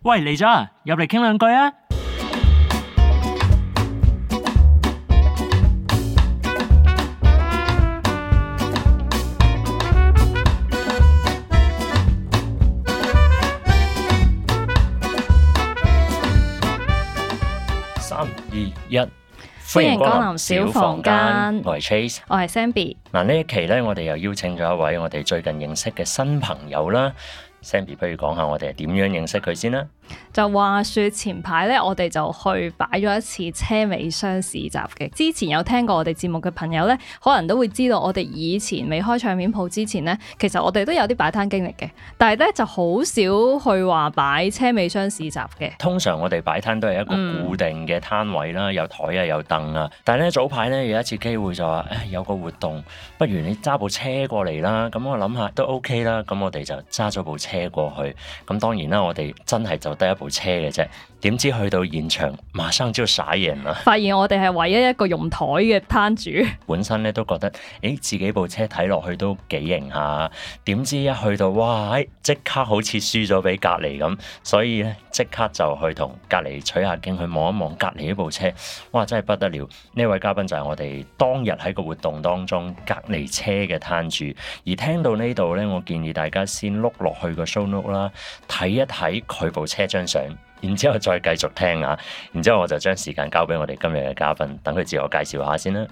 喂，嚟咗啊，入嚟傾兩句啊！3、2、1， 歡迎光臨小房間。 我係 Trace， 我係 Zenbi。 嗱，呢一期咧，我哋又邀請咗一位我哋最近認識嘅新朋友啦。Zenbi，不如講下我哋係點樣認識佢先啦？ 就話說前排咧，我哋就去擺咗一次車尾箱市集嘅。之前有聽過我哋節目嘅朋友咧，可能都會知道我哋以前未開唱片鋪之前咧，其實我哋都有啲擺攤經歷嘅，但係咧就好少去話擺車尾箱市集嘅。 通常我哋擺攤都係一個固定嘅攤位啦，有台啊，有凳啊。但係咧早排咧有一次機會就話，有個活動，不如你揸部車過嚟啦。咁我諗下都 OK 啦。咁我哋就揸咗部車過去。咁當然啦，我哋真係就得一部車嘅啫，點知去到現場馬上就傻眼啦！ 發現我哋係唯一一個用台嘅攤主。 本身咧都覺得，自己部車睇落去都幾型下，點知一去到，哇！即刻好似輸咗俾隔離咁，所以咧即刻就去同隔離取下經，去望一望隔離呢部車，哇！真係不得了！呢位嘉賓就係我哋當日喺個活動當中隔離車嘅攤主。而聽到呢度咧，我建議大家先碌落去個 show note 啦，睇一睇佢部車張相。然之後再繼續聽啊，然之後我就將時間交俾我哋今日嘅嘉賓，等佢自我介紹下先啦。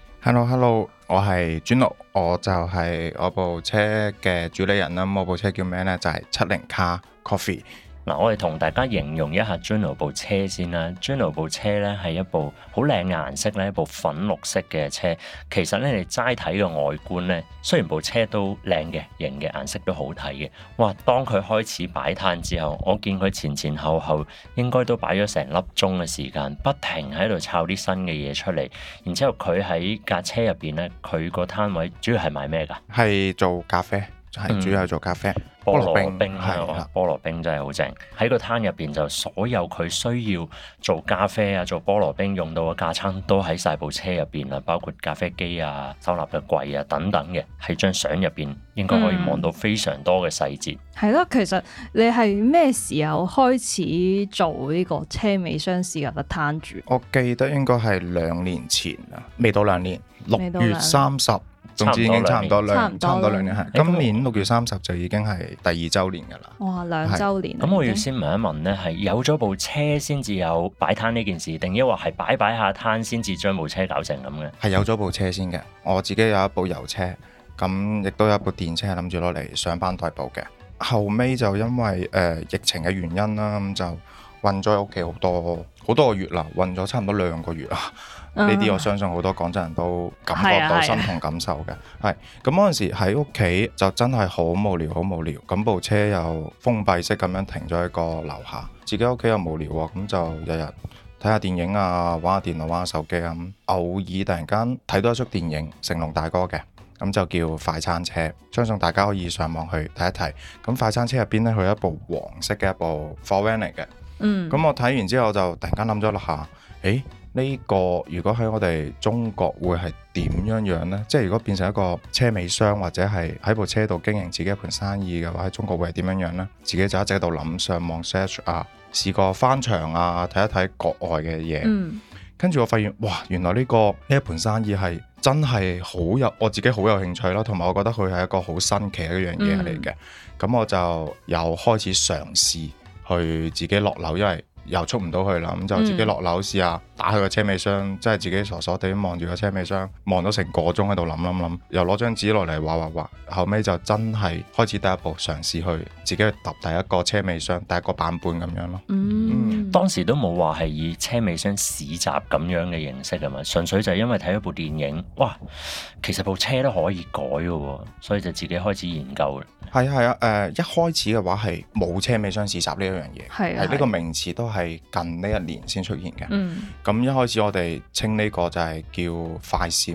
Hello， 我係 Juno， 我就係我部車嘅主理人啦。我部車叫咩呢？就係70 Car Coffee。 嗱，我哋同大家形容一下 Juno 部車先啦。Juno 部車咧係一部好靚嘅顏色咧，一部粉綠色嘅車。其實咧，你齋睇個外觀咧，雖然部車都靚嘅，型嘅，顏色都好睇嘅。哇！當佢開始擺攤之後，我見佢前後後應該都擺咗成粒鐘嘅時間，不停喺度抄啲新嘅嘢出嚟。然之後佢喺架車入邊咧，佢個攤位主要係賣咩㗎？ 係做咖啡，係主要係做咖啡。 菠蘿冰係菠蘿冰真係好正。喺個攤入邊就所有佢需要做咖啡啊、做菠蘿冰用到嘅架撐都喺晒部車入邊啦，包括咖啡機啊、收納嘅櫃啊等等嘅。喺張相入邊應該可以望到非常多嘅細節。 係咯，其實你係咩時候開始做呢個車尾箱市集嘅攤主？ 我記得應該係2年前啦，未到2年，6月30。總之已經差唔多兩年係。今年6月30就已經係第2週年㗎啦。 哇，2週年！ 咁我要先問一問咧，係有咗部車先至有擺攤呢件事，定抑或係擺下攤先至將部車搞成咁嘅？ 係有咗部車先嘅。我自己有一部油車，咁亦都有一部電車，諗住攞嚟上班代步嘅。後尾就因為疫情嘅原因啦，咁就韞咗喺屋企好多個月啦，韞咗差唔多2個月啦。呢啲我相信好多廣州人都感覺到身同感受嘅。係咁嗰陣時喺屋企就真係好無聊，咁部車又封閉式咁樣停咗喺個樓下，自己屋企又無聊喎，咁就日日睇下電影啊，玩下電腦，玩下手機啊。咁偶爾突然間睇到一出電影，成龍大哥嘅，咁就叫快餐車，相信大家可以上網去睇一睇。咁快餐車入邊呢，佢有一部黃色嘅一部貨 van 嚟嘅。咁我睇完之後就突然間諗咗落下，呢個如果喺我哋中國會係點樣呢？即係如果變成一個車尾箱，或者係喺部車度經營自己一盤生意嘅話，喺中國會係點樣呢？自己就一直喺度諗，上網 search 啊，試過翻牆啊，睇一睇國外嘅嘢。跟住我發現，哇！原來呢一盤生意係真係我自己好有興趣啦，同埋我覺得佢係一個好新奇嘅一樣嘢嚟嘅。咁我就又開始嘗試去自己落樓，因為又出唔到去啦，咁就自己落樓試下打開個車尾箱，即係自己傻傻地望住個車尾箱，望咗成個鐘喺度諗，又攞張紙落嚟畫，後尾就真係開始第一步嘗試去自己去揼第一個車尾箱，第一個版本咁樣咯。 當時都冇話係以車尾箱市集咁樣嘅形式啊嘛，純粹就係因為睇咗部電影，哇，其實部車都可以改嘅，所以就自己開始研究。 係啊，一開始嘅話係冇車尾箱市集呢一樣嘢，係呢個名詞都係近呢1年先出現嘅。咁一開始我哋稱呢個就係叫快閃，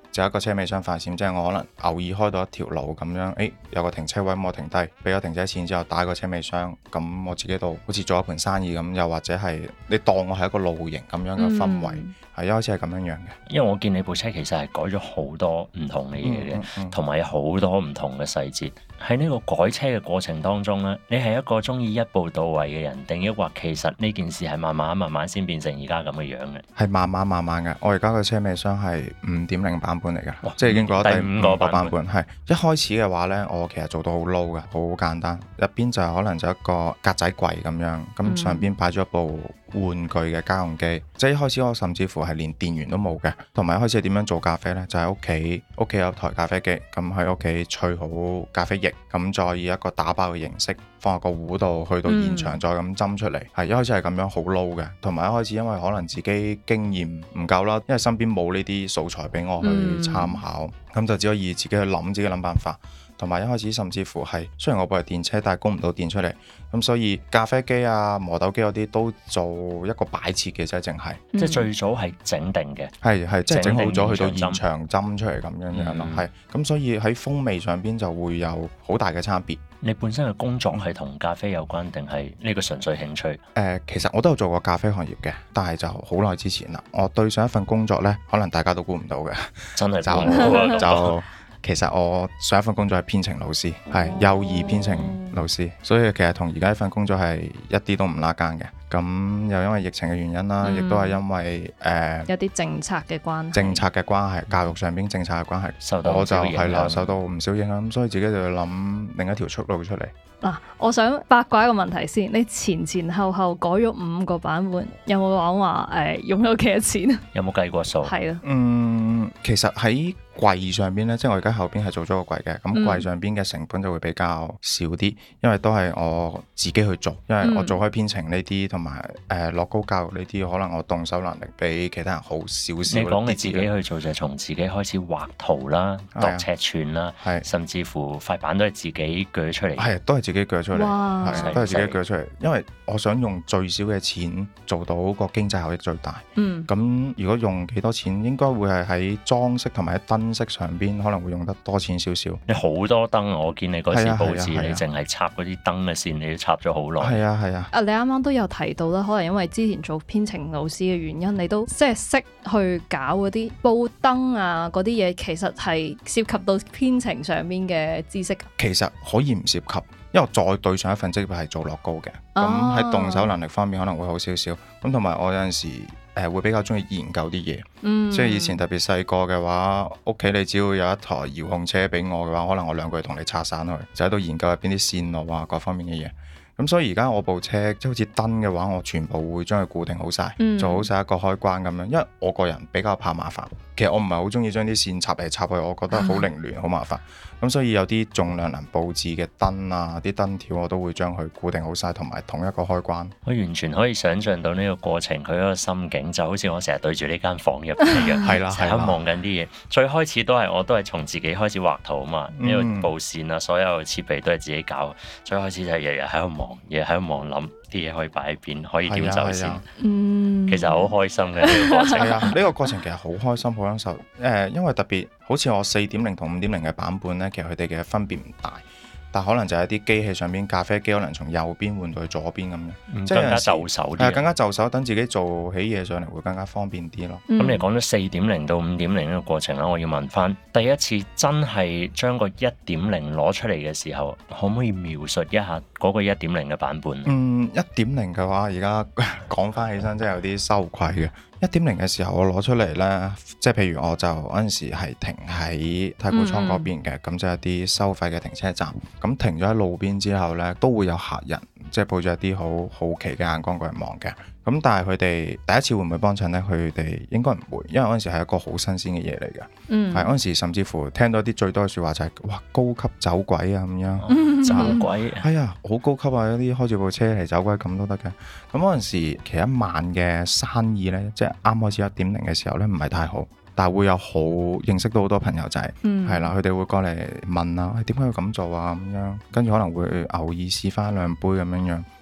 就一個車尾箱快閃，即係我可能偶爾開到一條路咁樣，有個停車位我停低，俾咗停車錢之後打個車尾箱，咁我自己度好似做一盤生意咁，又或者係你當我係一個露營咁樣嘅氛圍，係一開始係咁樣樣嘅。 因為我見你部車其實係改咗好多唔同嘅嘢嘅，同埋有好多唔同嘅細節。喺呢個改車嘅過程當中咧，你係一個中意一步到位嘅人，定抑或其實呢件事係慢慢先變成而家咁嘅樣嘅？ 係慢慢嘅。我而家個車尾箱係5.0版本嚟嘅，即係已經過咗第5個版本。係一開始嘅話呢，我其實做到好 low 嘅，好簡單。入邊就可能就一個格仔櫃咁樣，咁上邊擺咗一部玩具嘅家用機。即係一開始我甚至乎係連電源都冇嘅。同埋一開始係點樣做咖啡呢？就喺屋企有台咖啡機，咁喺屋企萃好咖啡液，咁再以一個打包嘅形式放入個壺度，去到現場再咁斟出嚟。係一開始係咁樣好 low 嘅。同埋一開始因為可能自己經驗唔夠啦，因為身邊冇呢啲素材俾我去參考，咁就只可以自己去諗，自己諗辦法。同埋一開始甚至乎係，雖然我部係電車，但係供唔到電出嚟，咁所以咖啡機啊、磨豆機嗰啲都做一個擺設嘅啫，淨係。 即係最早係整定嘅， 係即係整好咗去到現場斟出嚟咁樣樣咯，係。咁所以喺風味上邊就會有好大嘅差別。 你本身嘅工作係同咖啡有關，定係呢個純粹興趣？ 其實我都有做過咖啡行業嘅，但係就好耐之前啦。我對上一份工作呢，可能大家都估唔到嘅， 真係就其實我上一份工作係編程老師，係幼兒編程老師，所以其實同而家呢份工作係一啲都唔拉更嘅。咁又因為疫情嘅原因啦，亦都係因為有啲政策嘅關係， 教育上邊政策嘅關係， 我就係啦，受到唔少影響，咁所以自己就要諗另一條出路出嚟。 嗱，我想八卦一個問題先，你前後改咗5個版本，有冇講話用咗幾多錢啊？ 有冇計過數？ 係啊， 其實喺櫃上邊咧，即係我而家後邊係做咗個櫃嘅，咁櫃上邊嘅成本就會比較少啲，因為都係我自己去做，因為我做開編程呢啲同埋樂高教育呢啲，可能我動手能力比其他人好少少。 你講你自己去做就係從自己開始畫圖啦、度尺寸啦，甚至乎塊板都係自己鋸出嚟。 係，都係自己鋸出嚟，都係自己鋸出嚟，因為我想用最少嘅錢做到個經濟效益最大。咁如果用幾多錢，應該會係喺裝飾同埋喺燈飾上邊可能會用得多錢少少。 你好多燈，我見你嗰時佈置，你淨係插嗰啲燈嘅線，你都插咗好耐。 係啊。 你啱啱都有提到啦，可能因為之前做編程老師嘅原因，你都即係識去搞嗰啲佈燈啊嗰啲嘢，其實係涉及到編程上面嘅知識。 其實可以唔涉及，因為我再對上一份職業係做樂高嘅，咁喺動手能力方面可能會好少少。咁同埋我有陣時會比較中意研究啲嘢，即係以前特別細個嘅話，屋企你只要有一台遙控車俾我嘅話，可能我2個月同你拆散去，就喺度研究入邊啲線路啊各方面嘅嘢。咁所以而家我部車即係好似燈嘅話，我全部會將佢固定好晒，做好晒一個開關咁樣。因為我個人比較怕麻煩，其實我唔係好中意將啲線插嚟插去，我覺得好凌亂好麻煩。咁所以有啲重量能佈置嘅燈啊，啲燈條我都會將佢固定好晒，同埋同一個開關。 我完全可以想像到呢個過程，佢嗰個心境就好似我成日對住呢間房入邊一樣，係啦，成日望緊啲嘢。最開始我都係從自己開始畫圖啊嘛，呢個佈線啊，所有設備都係自己搞。最開始就係日日喺度望，日日喺度望諗啲嘢可以擺喺邊，可以點走先。其實好開心嘅呢個過程。 呢個過程其實好開心，好享受。因為特別好似我4.0同5.0嘅版本呢，其實佢哋嘅分別唔大。但可能就係一啲機器上邊，咖啡機可能從右邊換到去左邊咁樣，即係更加就手啲。 更加就手，等自己做起嘢上嚟會更加方便啲咯。 咁你講咗4.0到5.0呢個過程啦，我要問翻第一次真係將個1.0攞出嚟嘅時候，可唔可以描述一下嗰個1.0嘅版本 ？1.0嘅話，而家講翻起身真係有啲羞愧嘅。1.0嘅時候我攞出嚟呢，即係譬如我就嗰陣時係停喺太古倉嗰邊嘅，咁就一啲收費嘅停車站。咁停咗喺路邊之後呢，都會有客人即係抱住一啲好好奇嘅眼光過嚟望嘅。咁但係佢哋第一次會唔會幫襯呢？佢哋應該唔會，因為嗰陣時係一個好新鮮嘅嘢嚟嘅。係嗰陣時甚至乎聽到啲最多嘅説話就係哇，高級走鬼啊咁樣。 走鬼係啊，好高級啊！一啲開住部車嚟走鬼咁都得嘅。咁嗰陣時其實1晚嘅生意呢，即係啱開始1.0嘅時候呢，唔係太好。但係會有好認識到好多朋友仔，係啦，佢哋會過嚟問啊，點解要咁做啊咁樣，跟住可能會偶爾試翻2杯咁樣樣。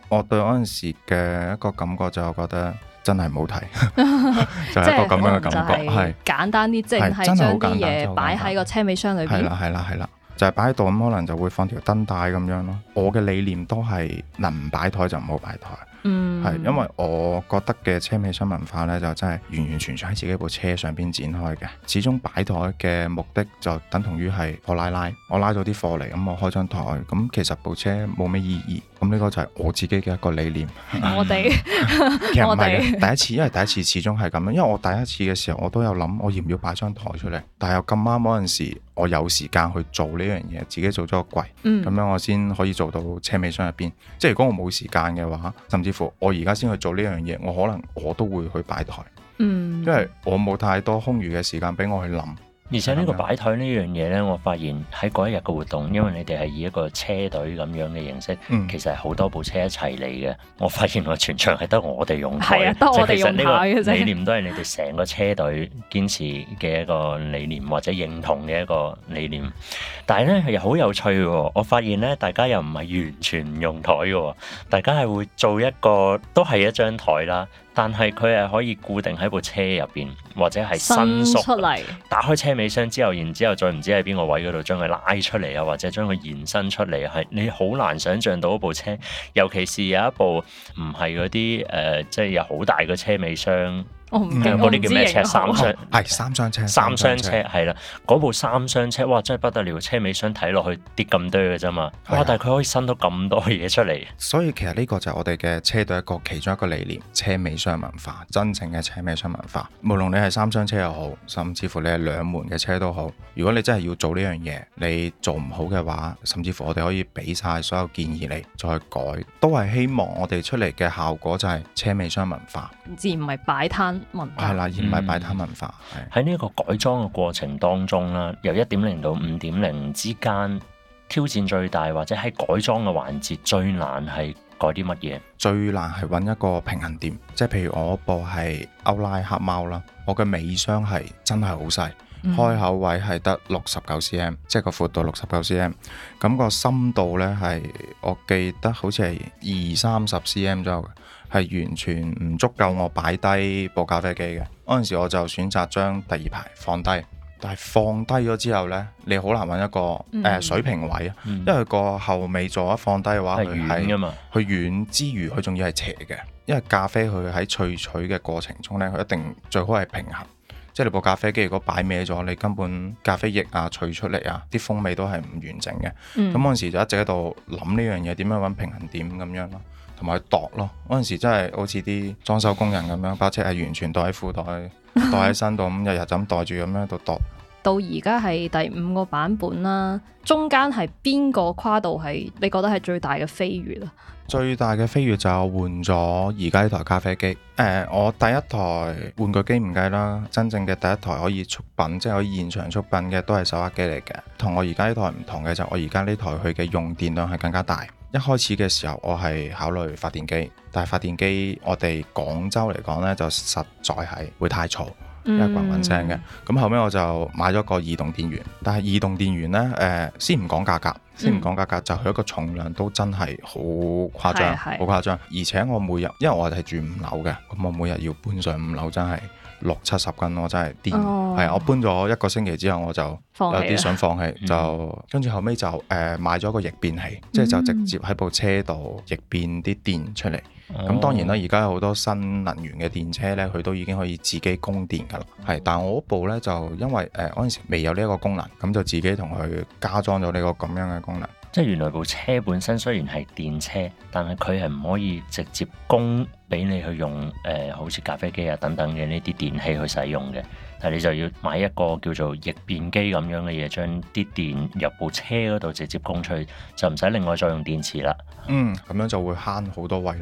我對嗰陣時嘅一個感覺就覺得真係冇睇，就係一個咁樣嘅感覺，係簡單啲，即係真係好將啲簡單嘢擺喺個車尾箱裏邊。 係啦，就係擺喺度咁，可能就會放條燈帶咁樣咯。我嘅理念都係能唔擺台就唔好擺台。係因為我覺得嘅車尾箱文化呢，就真係完完全全喺自己部車上邊展開嘅。始終擺台嘅目的就等同於係我拉，我拉到啲貨嚟，咁我開張台，咁其實部車冇咩意義。咁呢個就係我自己嘅一個理念。 我哋其實唔係嘅，第一次，因為第一次始終係咁樣。因為我第一次嘅時候，我都有諗我要唔要擺張台出嚟，但係又咁啱嗰陣時，我有時間去做呢樣嘢，自己做咗個櫃，咁樣我先可以做到車尾箱入邊。即係如果我冇時間嘅話，甚至乎我而家先去做呢樣嘢，我可能我都會去擺台，因為我冇太多空餘嘅時間俾我去諗。 而且呢個擺台呢樣嘢呢，我發現喺嗰一日嘅活動，因為你哋係以一個車隊咁樣嘅形式，其實係好多部車一齊嚟嘅。我發現我全場係得我哋用台， 係啊，得我哋用台嘅啫。 理念都係你哋成個車隊堅持嘅一個理念，或者認同嘅一個理念。但係呢，又好有趣喎，我發現呢，大家又唔係完全唔用台嘅，大家係會做一個都係一張台啦。但係佢係可以固定喺部車入邊，或者係伸縮出嚟， 打開車尾箱之後，然之後再唔知喺邊個位嗰度將佢拉出嚟啊，或者將佢延伸出嚟，係你好難想像到一部車，尤其是有一部唔係嗰啲即係有好大嘅車尾箱。嗰啲叫咩車？三廂係三廂車， 三廂車係啦，嗰部三廂車哇真係不得了，車尾箱睇落去跌咁多嘅啫嘛，哇！但係佢可以伸到咁多嘢出嚟。 所以其實呢個就係我哋嘅車隊一個其中一個理念，車尾箱文化，真正嘅車尾箱文化。無論你係三廂車又好，甚至乎你係兩門嘅車都好，如果你真係要做呢樣嘢，你做唔好嘅話，甚至乎我哋可以俾晒所有建議你再改，都係希望我哋出嚟嘅效果就係車尾箱文化， 而唔係擺攤文化。 係啦，而唔係擺攤文化。 喺呢一個改裝嘅過程當中啦，由 1.0 到 5.0 之間，挑戰最大或者喺改裝嘅環節最難係改啲乜嘢？ 最難係揾一個平衡點，即係譬如我部係歐拉黑貓啦，我嘅尾箱係真係好細，開口位係得69 cm， 即係個闊度69 cm， 咁個深度呢係我記得好似係20-30 cm 左右嘅。係完全唔足夠我擺低部咖啡機嘅。嗰陣時我就選擇將第二排放低，但係放低咗之後呢，你好難揾一個水平位啊，因為個後尾座一放低嘅話，佢係軟，佢軟之餘佢仲要係斜嘅，因為咖啡佢喺萃取嘅過程中呢，佢一定最好係平衡。即係你部咖啡機如果擺歪咗，你根本咖啡液啊萃出嚟啊，啲風味都係唔完整嘅。咁嗰陣時就一直喺度諗呢樣嘢，點樣揾平衡點咁樣咯。同埋度咯，嗰陣時真係好似啲裝修工人咁樣，把車係完全袋喺褲袋，袋喺身度，咁日日就咁袋住咁樣喺度度。 到而家係第5個版本啦，中間係邊個跨度係你覺得係最大嘅飛躍啊？ 最大嘅飛躍就換咗而家呢台咖啡機。我第一台玩具機唔計啦，真正嘅第一台可以速品，即係可以現場速品嘅都係手握機嚟嘅。同我而家呢台唔同嘅就係我而家呢台佢嘅用電量係更加大。一開始嘅時候我係考慮發電機，但係發電機我哋廣州嚟講呢，就實在係會太嘈，因為滾滾聲嘅。咁後尾我就買咗個移動電源，但係移動電源呢，先唔講價格，就佢一個重量都真係好誇張，好誇張。而且我每日，因為我係住5樓嘅，咁我每日要搬上5樓真係60-70斤，我真係癲。係我搬咗1個星期之後，我就有啲想放棄，就跟住後尾就買咗個逆變器，即係就直接喺部車度逆變啲電出嚟。咁當然啦，而家有好多新能源嘅電車呢，佢都已經可以自己供電㗎啦。係，但我嗰部呢，就因為嗰陣時未有呢一個功能，咁就自己同佢加裝咗呢個咁樣嘅功能。 即係原來部車本身雖然係電車，但係佢係唔可以直接供俾你去用好似咖啡機啊等等嘅呢啲電器去使用嘅。但係你就要買一個叫做逆變機咁樣嘅嘢，將啲電入部車嗰度直接供出去，就唔使另外再用電池啦。 咁樣就會慳好多位咯。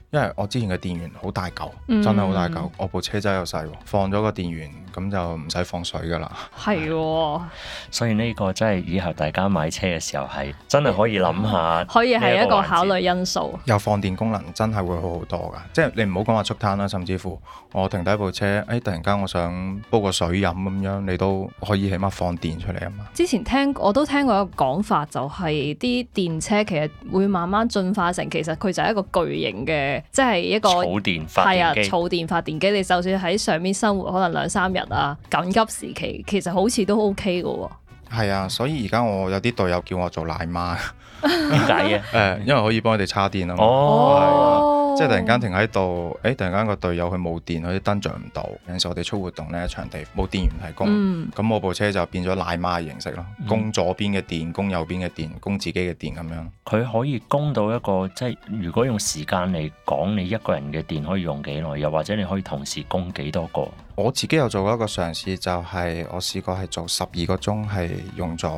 因為我之前嘅電源好大嚿， 嗯真係好大嚿。我部車仔又細喎，放咗個電源咁就唔使放水噶啦。 係喎， 所以呢個真係以後大家買車嘅時候係真係可以諗下， 可以係一個考慮。 慮因素。 有放電功能真係會好好多㗎，即係你唔好講話速攤啦，甚至乎我停低部車，突然間我想煲個水飲咁樣，你都可以起碼放電出嚟啊嘛。 之前我都聽過一個講法，就係啲電車其實會慢慢進化成，其實佢就係一個巨型嘅，即係一個儲電發係啊， 電機。 儲電發電機。你就算喺上面生活可能2-3日啊，緊急時期其實好似都 OK 嘅喎。 係啊，所以而家我有啲隊友叫我做奶媽， 點解嘅？ 因為可以幫佢哋叉電啊嘛。 哦， 即係突然間停喺度，突然間個隊友佢冇電，佢啲燈着唔到。有陣時我哋出活動呢，場地冇電源提供，咁我部車就變咗奶媽嘅形式咯，供左邊嘅電，供右邊嘅電，供自己嘅電咁樣。 佢可以供到一個，即係如果用時間嚟講，你一個人嘅電可以用幾耐？又或者你可以同時供幾多個？ 我自己有做過一個嘗試，就係我試過係做12個鐘，係用咗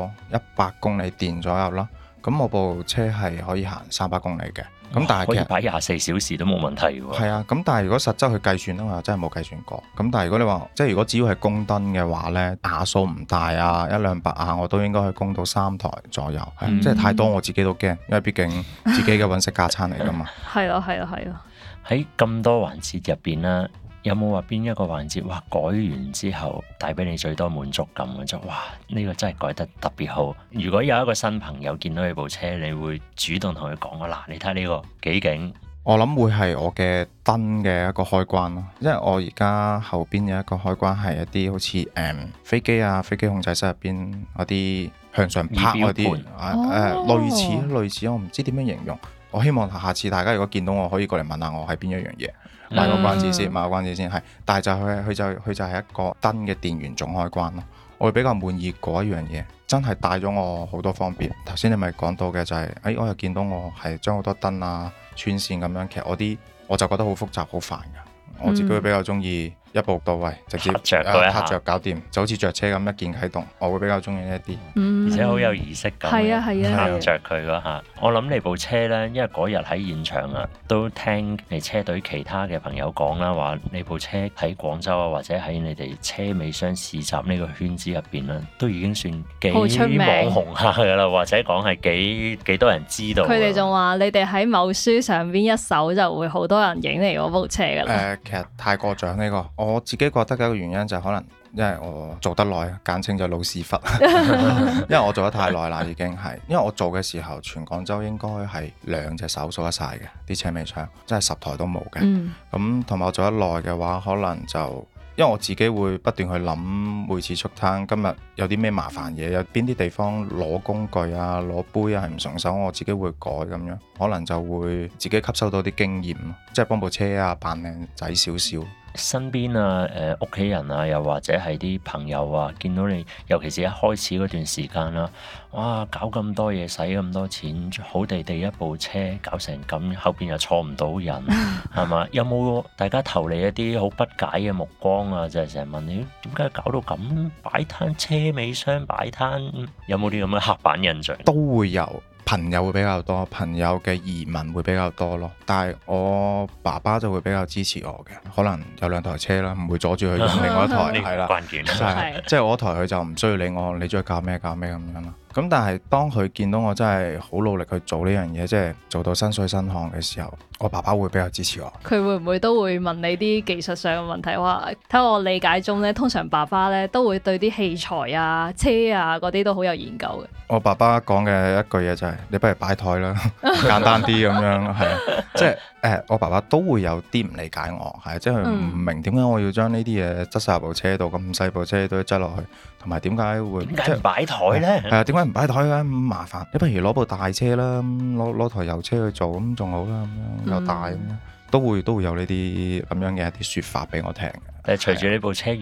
100公里電左右啦。咁我部車係可以行300公里嘅。咁但係其實可以擺24小時都冇問題喎。 係啊，咁但係如果實質去計算咧，我真係冇計算過。咁但係如果你話即係如果只要係供燈嘅話呢，瓦數唔大啊，100-200瓦我都應該可以供到3台左右。即係太多我自己都驚，因為畢竟自己嘅揾食架撐嚟㗎嘛。 係咯，係咯，係咯。 喺咁多環節入邊啦，有冇話邊一個環節哇改完之後帶俾你最多滿足感嘅？就哇呢個真係改得特別好。如果有一個新朋友見到你部車，你會主動同佢講啊，嗱，你睇呢個幾勁。 我諗會係我嘅燈嘅一個開關咯，因為我而家後邊有一個開關係一啲好似飛機啊，飛機控制室入邊嗰啲向上拍嗰啲類似我唔知點樣形容。我希望下次大家如果見到我可以過嚟問下我係邊一樣嘢，賣個關子先，賣個關子先係。但係就佢就係一個燈嘅電源總開關咯。我會比較滿意嗰一樣嘢，真係帶咗我好多方便。頭先你咪講到嘅就係，我又見到我係將好多燈啊穿線咁樣，其實我就覺得好複雜好煩㗎。我自己會比較中意一步到位，直接撻着搞掂，就好似着車咁一鍵啟動。我會比較中意呢一啲， 而且好有儀式感。 係啊係啊， 撻着佢嗰下，我諗你部車呢，因為嗰日喺現場啊，都聽你車隊其他嘅朋友講啦，話你部車喺廣州啊，或者喺你哋車尾箱市集呢個圈子入邊啦，都已經算幾網紅下噶啦，或者講係幾多人知道。 佢哋仲話你哋喺某書上邊一搜就會好多人影你嗰部車噶啦。 其實太過獎呢個，我自己覺得嘅一個原因就係可能因為我做得耐，簡稱就老屎忽，因為我做得太耐啦，已經係。因為我做嘅時候，全廣州應該係2隻手數得晒嘅啲車尾箱，真係10台都冇嘅。咁同埋我做得耐嘅話，可能就因為我自己會不斷去諗每次出攤，今日有啲咩麻煩嘢，有邊啲地方攞工具啊、攞杯啊係唔順手，我自己會改咁樣，可能就會自己吸收到啲經驗，即係幫部車啊扮靚仔少少。 身邊啊、屋企人啊，又或者係啲朋友啊，見到你，尤其是一開始嗰段時間啦，哇，搞咁多嘢，使咁多錢，好地地一部車搞成咁，後邊又坐唔到人，係嘛？有冇大家投嚟一啲好不解嘅目光啊？就係成日問你點解搞到咁擺攤，車尾箱擺攤，有冇啲咁嘅刻板印象？ 都會有。朋友會比較多，朋友嘅移民會比較多咯。但係我爸爸就會比較支持我嘅，可能有2台車啦，唔會阻住佢用另外一台，係啦， 關鍵即係我台佢就唔需要理我，你中意搞咩咁樣啦。咁但係當佢見到我真係好努力去做呢樣嘢，即係做到身水身汗嘅時候，我爸爸會比較支持我。 佢會唔會都會問你啲技術上嘅問題？話睇我理解中咧，通常爸爸咧都會對啲器材啊、車啊嗰啲都好有研究嘅。 我爸爸講嘅一句嘢就係：你不如擺台啦，簡單啲咁樣，係即係我爸爸都會有啲唔理解我，係即係佢唔明點解我要將呢啲嘢執晒入部車度，咁細部車都執落去，同埋點解會點解唔擺台咧？ 係啊，點解唔擺台嘅咁麻煩？你不如攞部大車啦，攞台油車去做咁仲好啦，咁樣又大咁樣，都會有呢啲咁樣嘅一啲説法俾我聽嘅。 隨住呢部車越改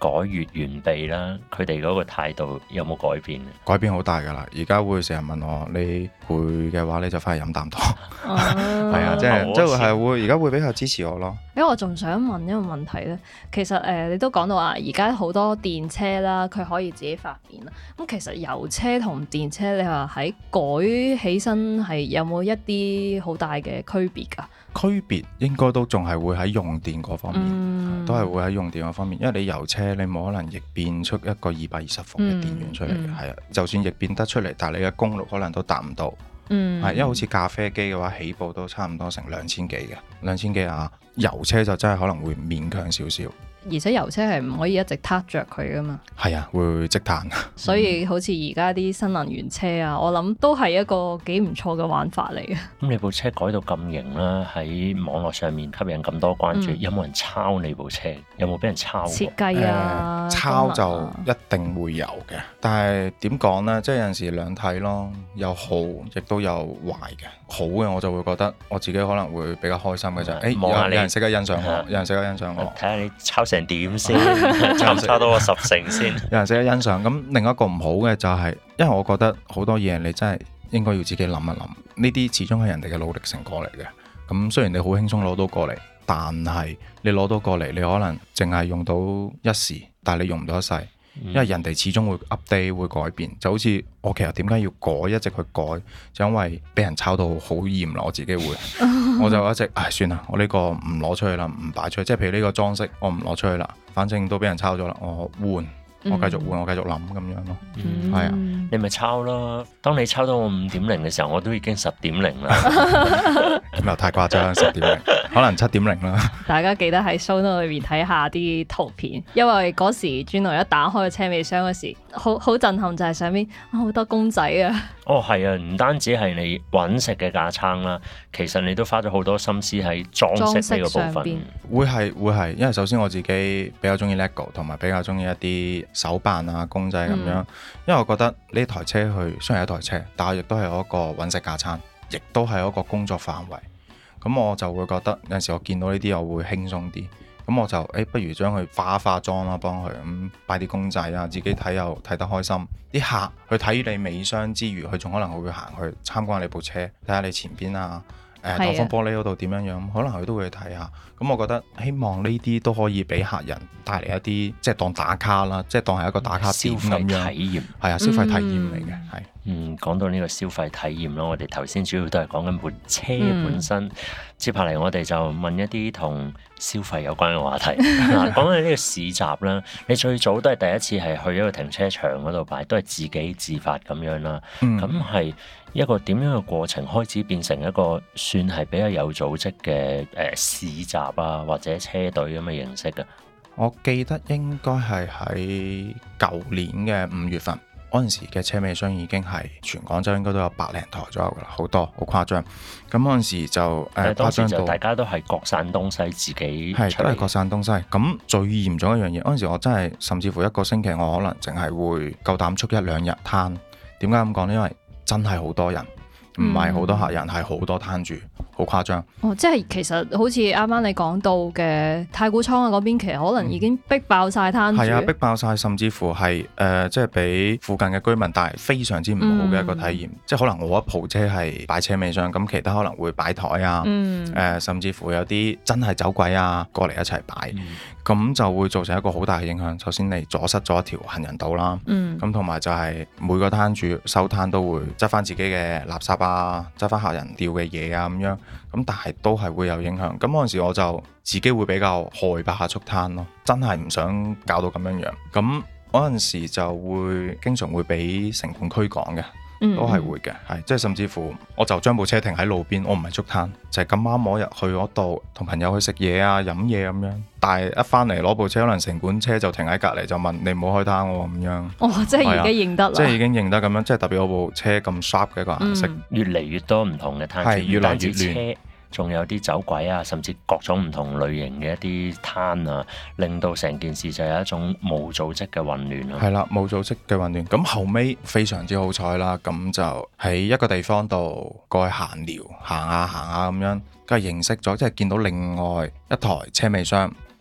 改越完備啦，佢哋嗰個態度有冇改變？ 改變好大㗎啦！而家會成日問我，你攰嘅話你就翻去飲啖湯， 哦係啊，即係會而家會比較支持我咯。 因為我仲想問一個問題咧，其實你都講到話，而家好多電車啦，佢可以自己發電啦。咁其實油車同電車，你話喺改起身係有冇一啲好大嘅區別㗎？ 區別應該都仲係會喺用電嗰方面，都係會喺用電嗰方面，因為你油車你冇可能逆變出一個220伏嘅電源出嚟嘅，係啊，就算逆變得出嚟，但係你嘅功率可能都達唔到，係因為好似咖啡機嘅話，起步都差唔多成2000幾嘅，2000幾啊，油車就真係可能會勉強少少。 而且油車係唔可以一直撻着佢噶嘛， 係啊，會積碳。 所以好似而家啲新能源車啊，我諗都係一個幾唔錯嘅玩法嚟嘅。 咁你部車改到咁型啦，喺網絡上面吸引咁多關注，有冇人抄你部車？有冇俾人抄過？ 設計啊， 抄就一定會有嘅，但係點講呢？即係有陣時兩睇咯，有好亦都有壞嘅。好嘅我就會覺得我自己可能會比較開心嘅就係，有人識得欣賞我，有人識得欣賞我。 睇下你抄成點先，抄到我10成先。 有人識得欣賞。咁另一個唔好嘅就係，因為我覺得好多嘢你真係應該要自己諗一諗，呢啲始終係人哋嘅努力成果嚟嘅。咁雖然你好輕鬆攞到過嚟，但係你攞到過嚟，你可能淨係用到一時，但係你用唔到一世。因為人哋始終會 update 會改變，就好似我其實點解要改，一直去改，就因為俾人抄到好嚴啦，我自己會，我就一直算啦，我呢個唔攞出去啦，唔擺出去，即係譬如呢個裝飾我唔攞出去啦，反正都俾人抄咗啦，我換。我繼續換，我繼續諗咁樣咯，係啊， 你咪抄咯。當你抄到我5.0嘅時候，我都已經10.0啦。 咁又太誇張，10.0，可能7.0啦。 大家記得喺 show note 裏邊睇下啲圖片，因為嗰時Juno一打開個車尾箱嗰時，好震撼，就係上面好多公仔啊！ 哦，係啊，唔單止係你揾食嘅架撐啦，其實你都花咗好多心思喺裝飾呢個部分。 會係，因為首先我自己比較中意 LEGO， 同埋比較中意一啲手辦啊公仔咁樣。因為我覺得呢台車佢雖然係一台車，但係亦都係一個揾食架撐，亦都係一個工作範圍。咁我就會覺得有陣時我見到呢啲我會輕鬆啲。咁我就不如將佢化妝啦，幫佢咁擺啲公仔啊，自己睇又睇得開心。啲客去睇你尾箱之餘，佢仲可能會行去參觀你部車，睇下你前邊啊，擋風玻璃嗰度點樣樣，可能佢都會去睇下。咁我覺得希望呢啲都可以俾客人帶嚟一啲，即係當打卡啦，即係當係一個打卡點咁樣。消費體驗係啊，消費體驗嚟嘅係。 講到呢個消費體驗咯，我哋頭先主要都係講緊部車本身。接下嚟我哋就問一啲同消費有關嘅話題。嗱，講緊呢個市集啦，你最早都係第一次係去一個停車場嗰度擺，都係自己自發咁樣啦。咁係一個點樣嘅過程開始變成一個算係比較有組織嘅市集啊，或者車隊咁嘅形式嘅？ 我記得應該係喺舊年嘅5月份。嗰陣時嘅車尾箱已經係全廣州應該都有100零台左右噶啦，好多好誇張。咁嗰陣時就當時就大家都係各散東西，自己都係各散東西。咁最嚴重一樣嘢，嗰陣時我真係甚至乎一個星期我可能淨係會夠膽出1-2日攤。點解咁講呢？因為真係好多人，唔係好多客人，係好多攤住，好誇張。 即係其實好似啱啱你講到嘅太古倉啊嗰邊，其實可能已經逼爆晒攤住。 係啊，逼爆晒，甚至乎係即係俾附近嘅居民帶嚟非常之唔好嘅一個體驗。即係可能我一部車係擺車尾箱，咁其他可能會擺台啊，甚至乎有啲真係走鬼啊過嚟一齊擺。咁就會造成一個好大嘅影響。首先你阻塞咗一條行人道啦，咁同埋就係每個攤主收攤都會執翻自己嘅垃圾啊，執翻客人掉嘅嘢啊咁樣，咁但係都係會有影響。咁嗰陣時我就自己會比較害怕出攤咯，真係唔想搞到咁樣樣。咁嗰陣時就會經常會俾城管驅趕嘅。都係會嘅，係即係甚至乎我就將部車停喺路邊，我唔係捉攤，就係咁啱我入去嗰度同朋友去食嘢啊飲嘢咁樣，但係一翻嚟攞部車，可能城管車就停喺隔離，就問你唔好開攤喎咁樣。 即係而家認得啦， 即係已經認得咁樣，即係特別我部車咁 sharp 嘅一個顏色， 越嚟越多唔同嘅攤主， 係越嚟越亂。 仲有啲走鬼啊，甚至各種唔同類型嘅一啲攤啊，令到成件事就有一種冇組織嘅混亂咯。 係啦，冇組織嘅混亂。咁後尾非常之好彩啦，咁就喺一個地方度過去閒聊，行下咁樣，跟住認識咗，即係見到另外一台車尾箱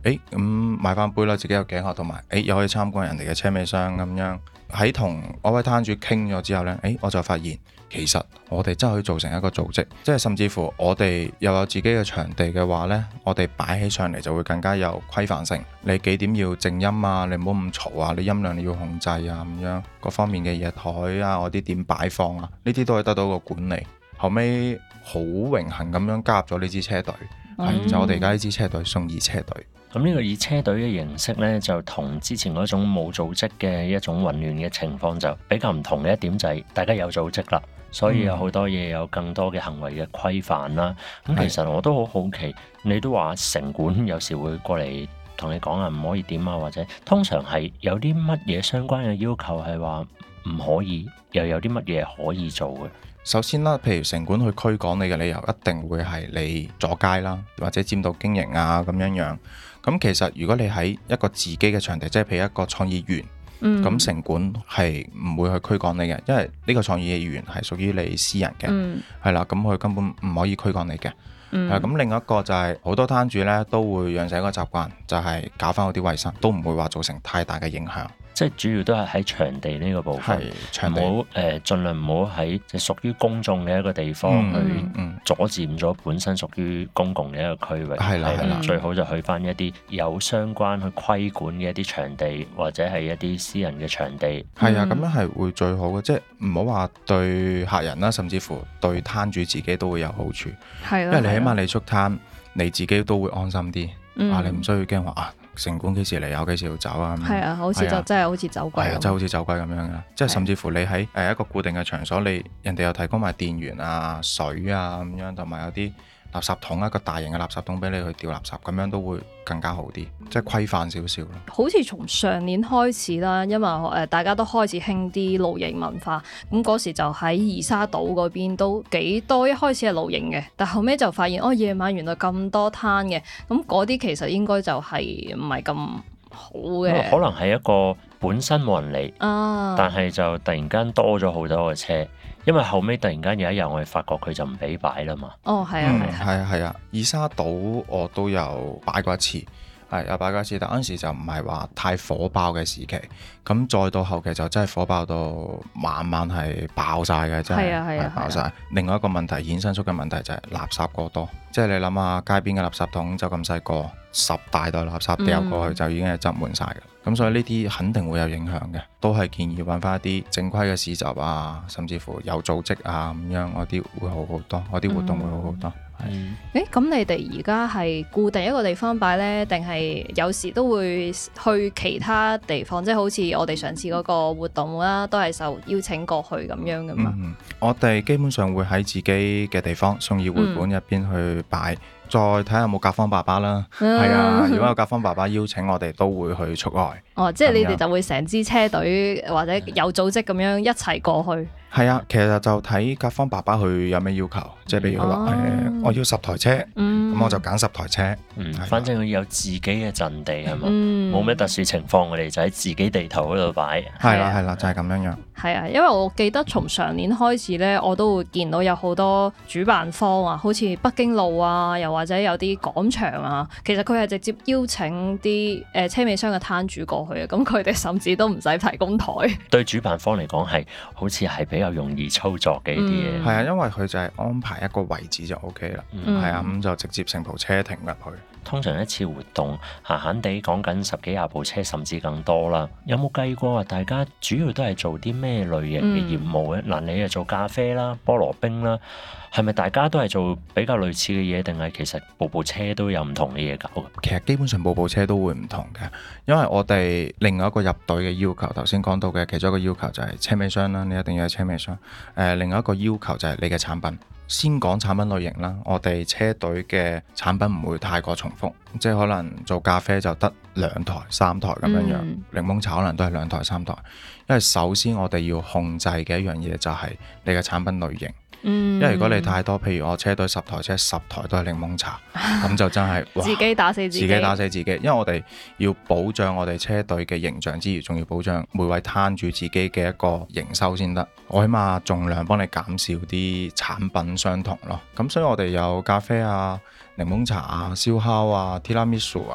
買翻杯啦，自己有頸盒，同埋又可以參觀人哋嘅車尾箱咁樣。喺同嗰位攤主傾咗之後呢，我就發現其實我哋真係可以做成一個組織，即係甚至乎我哋又有自己嘅場地嘅話呢，我哋擺起上嚟就會更加有規範性。你幾點要靜音啊？你唔好咁嘈啊！你音量你要控制啊，咁樣各方面嘅嘢台啊，我啲點擺放啊，呢啲都可以得到個管理。後尾好榮幸咁樣加入咗呢支車隊，就我哋而家呢支車隊送二車隊。 咁呢個以車隊嘅形式呢，就同之前嗰種冇組織嘅一種混亂嘅情況就比較唔同嘅一點就係大家有組織啦，所以有好多嘢有更多嘅行為嘅規範啦。咁其實我都好好奇，你都話城管有時會過嚟同你講啊，唔可以點啊，或者通常係有啲乜嘢相關嘅要求係話唔可以，又有啲乜嘢可以做嘅？ 首先啦，譬如城管去驅趕你嘅理由，一定會係你阻街啦，或者佔道經營啊咁樣樣。咁其實如果你喺一個自己嘅場地，即係譬如一個創意園，咁城管係唔會去驅趕你嘅，因為呢個創意園係屬於你私人嘅，係啦，咁佢根本唔可以驅趕你嘅。咁另一個就係好多攤主呢都會養成一個習慣，就係搞翻好啲衞生，都唔會話造成太大嘅影響。 即係主要都係喺場地呢個部分，唔好盡量唔好喺即係屬於公眾嘅一個地方去阻佔咗本身屬於公共嘅一個區域。係啦，最好就去翻一啲有相關去規管嘅一啲場地，或者係一啲私人嘅場地。 係啊，咁樣係會最好嘅，即係唔好話對客人啦，甚至乎對攤主自己都會有好處。因為你起碼你出攤，你自己都會安心啲。你唔需要驚話城管幾時嚟，有幾時要走啊？ 係啊，好似就真係好似走鬼咁。 真係好似走鬼咁樣嘅，即係甚至乎你喺一個固定嘅場所，人哋又提供埋電源啊、水啊咁樣，同埋有啲垃圾桶，一個大型嘅垃圾桶俾你去掉垃圾，咁樣都會更加好啲，即係規範少少咯。 好似從上年開始啦，因為大家都開始興啲露營文化，咁嗰時就喺二沙島嗰邊都幾多，一開始係露營嘅，但後尾就發現夜晚原來咁多攤嘅，咁嗰啲其實應該就係唔係咁好嘅。 可能係一個本身冇人嚟，但係就突然間多咗好多嘅車。因為後尾突然間有一日我哋發覺佢就唔俾擺啦嘛。 係啊，二沙島我都有擺過一次，有擺過一次，但嗰陣時就唔係話太火爆嘅時期，咁再到後期就真係火爆到晚晚係爆晒嘅，真係爆晒。另外一個問題衍生出嘅問題就係垃圾過多，即係你諗下街邊嘅垃圾桶就咁細個，10大袋垃圾掉過去就已經係擠滿晒嘅。咁所以呢啲肯定會有影響嘅，都係建議揾翻一啲正規嘅市集啊，甚至乎有組織啊咁樣，嗰啲會好好多，嗰啲活動會好好多。 咁你哋而家係固定一個地方擺呢？定係有時都會去其他地方？即係好似我哋上次嗰個活動啦，都係受邀請過去咁樣噶嘛？ 我哋基本上會喺自己嘅地方送議會館入邊去擺。再睇下有冇甲方爸爸啦，係啊！如果有甲方爸爸邀請我哋，都會去出外。 即係你哋就會成支車隊或者有組織咁樣一齊過去。 係啊，其實就睇甲方爸爸佢有咩要求，即係譬如佢話我要10台車，咁我就揀10台車。 反正佢有自己嘅陣地係嘛，冇咩特殊情況，我哋就喺自己地頭嗰度擺。 係啦，就係咁樣樣。 係啊，因為我記得從上年開始呢，我都會見到有好多主辦方啊，好似北京路啊，又或者有啲廣場啊，其實佢係直接邀請啲車尾箱嘅攤主過去啊，咁佢哋甚至都唔使提供台。對主辦方嚟講係好似係比較容易操作嘅呢啲嘢。 係啊，因為佢就係安排一個位置就 OK 啦。係啊，咁就直接成部車停入去。 通常一次活動閒閒地講緊10幾20部車，甚至更多啦。有冇計過話大家主要都係做啲咩類型嘅業務咧？你係做咖啡啦、菠蘿冰啦，係咪大家都係做比較類似嘅嘢，定係其實部車都有唔同嘅嘢搞？ 其實基本上部車都會唔同嘅，因為我哋另外一個入隊嘅要求，頭先講到嘅其中一個要求就係車尾箱啦，你一定要有車尾箱。另外一個要求就係你嘅產品。先講產品類型啦，我哋車隊嘅產品唔會太過重複，即係可能做咖啡就得2台3台咁樣樣，檸檬茶可能都係2台3台。因為首先我哋要控制嘅一樣嘢就係你嘅產品類型。因為如果你太多，譬如我車隊10台車10台都係檸檬茶，咁就真係自己打死自己， 因為我哋要保障我哋車隊嘅形象之餘，仲要保障每位攤主自己嘅一個營收先得。我起碼盡量幫你減少啲產品相同咯。咁所以我哋有咖啡啊、檸檬茶啊、燒烤啊、提拉米蘇啊、